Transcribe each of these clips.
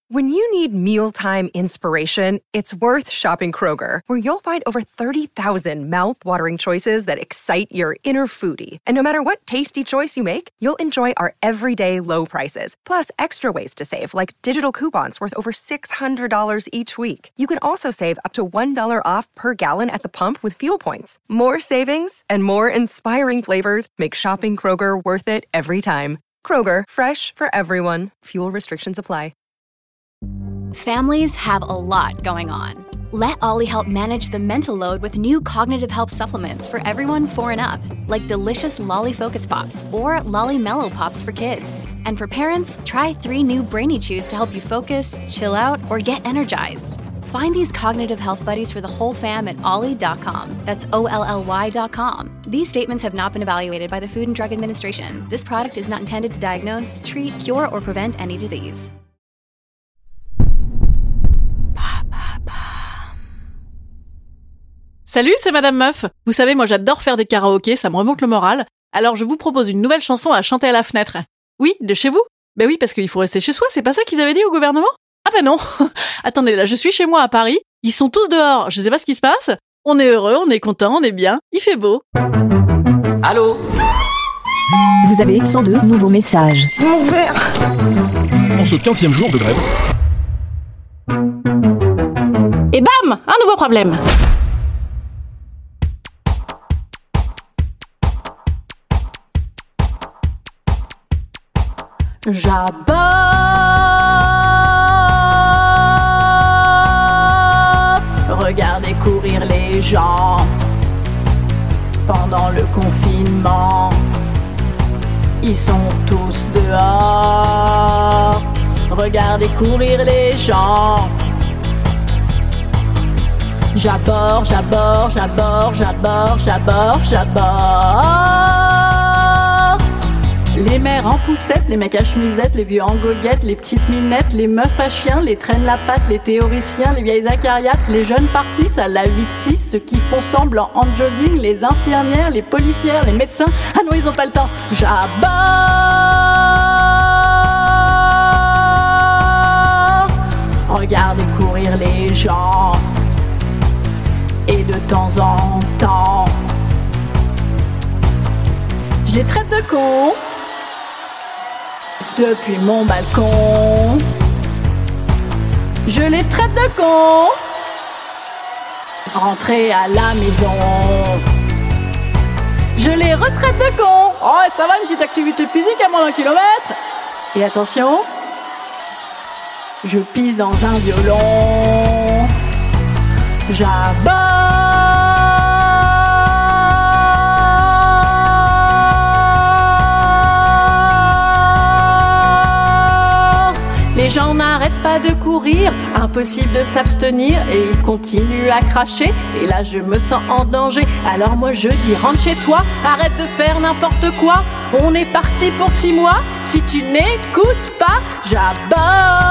When you need mealtime inspiration, it's worth shopping Kroger, where you'll find over 30,000 mouth-watering choices that excite your inner foodie. And no matter what tasty choice you make, you'll enjoy our everyday low prices, plus extra ways to save, like digital coupons worth over $600 each week. You can also save up to $1 off per gallon at the pump with fuel points. More savings and more inspiring flavors make shopping Kroger worth it every time. Kroger, fresh for everyone. Fuel restrictions apply. Families have a lot going on. Let Ollie help manage the mental load with new cognitive help supplements for everyone 4 and up, like delicious Lolly Focus Pops or Lolly Mellow Pops for kids. And for parents, try 3 new Brainy Chews to help you focus, chill out, or get energized. Find these cognitive health buddies for the whole fam at ollie.com. That's OLLY.com. These statements have not been evaluated by the Food and Drug Administration. This product is not intended to diagnose, treat, cure, or prevent any disease. Salut, c'est Madame Meuf. Vous savez, moi j'adore faire des karaokés, ça me remonte le moral. Alors je vous propose une nouvelle chanson à chanter à la fenêtre. Oui, de chez vous ? Ben oui, parce qu'il faut rester chez soi, c'est pas ça qu'ils avaient dit au gouvernement ? Ah ben non. Attendez, là je suis chez moi à Paris, ils sont tous dehors, je sais pas ce qui se passe. On est heureux, on est content, on est bien, il fait beau. Allô ? Vous avez 102 nouveaux messages. Mon verre ! En ce 15e jour de grève. Et bam, un nouveau problème. J'aborde. Regardez courir les gens pendant le confinement. Ils sont tous dehors. Regardez courir les gens. J'aborde, j'aborde, j'aborde, j'aborde, j'aborde, j'aborde. Les mères en poussette, les mecs à chemisette, les vieux en goguette, les petites minettes, les meufs à chiens, les traînes la patte, les théoriciens, les vieilles acariates, les jeunes par-6 à la 8-6, ceux qui font semblant en jogging, les infirmières, les policières, les médecins. Ah non, ils ont pas le temps. J'aborde. Regardez courir les gens. Et de temps en temps, je les traite de cons. Depuis mon balcon, je les traite de cons. Rentrez à la maison, je les retraite de cons. Oh, ça va, une petite activité physique à moins d'1 kilomètre. Et attention, je pisse dans un violon. J'aborde. Les gens n'arrêtent pas de courir, impossible de s'abstenir et ils continuent à cracher. Et là je me sens en danger, alors moi je dis rentre chez toi, arrête de faire n'importe quoi. On est parti pour 6 mois, si tu n'écoutes pas, j'aborde.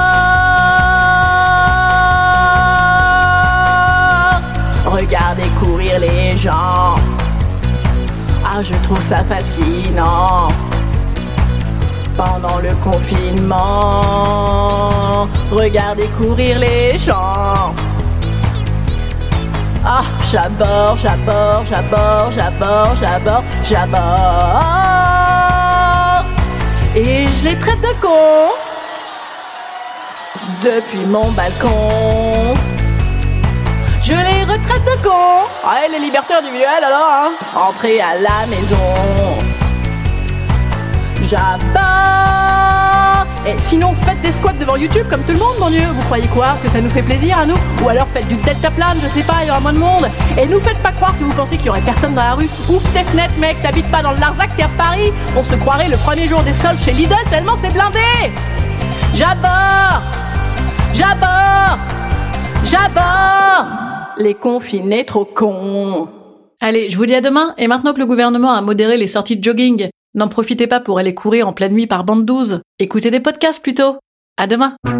Regardez courir les gens. Ah, je trouve ça fascinant. Pendant le confinement, regardez courir les gens. Ah, j'aborde, j'aborde, j'aborde, j'aborde, j'aborde, j'aborde. Et je les traite de cons. Depuis mon balcon, je les retraite de cons. Ah, les libertés individuelles alors, hein. Entrez à la maison. J'aborde. Et sinon, faites des squats devant YouTube comme tout le monde, mon Dieu. Vous croyez quoi? Que ça nous fait plaisir à nous? Ou alors faites du deltaplane, je sais pas, il y aura moins de monde. Et nous faites pas croire que vous pensez qu'il y aurait personne dans la rue. Ouvre tes fenêtres, mec, t'habites pas dans le Larzac, t'es à Paris. On se croirait le premier jour des soldes chez Lidl tellement c'est blindé. J'aborde. J'aborde. J'aborde. Les confinés trop cons. Allez, je vous dis à demain. Et maintenant que le gouvernement a modéré les sorties de jogging, n'en profitez pas pour aller courir en pleine nuit par bande 12. Écoutez des podcasts plutôt. À demain.